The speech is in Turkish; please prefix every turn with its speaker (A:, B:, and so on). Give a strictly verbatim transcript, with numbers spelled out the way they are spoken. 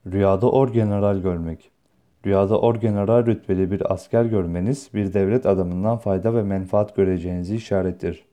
A: Rüyada orgeneral görmek. Rüyada orgeneral rütbeli bir asker görmeniz bir devlet adamından fayda ve menfaat göreceğinizi işarettir.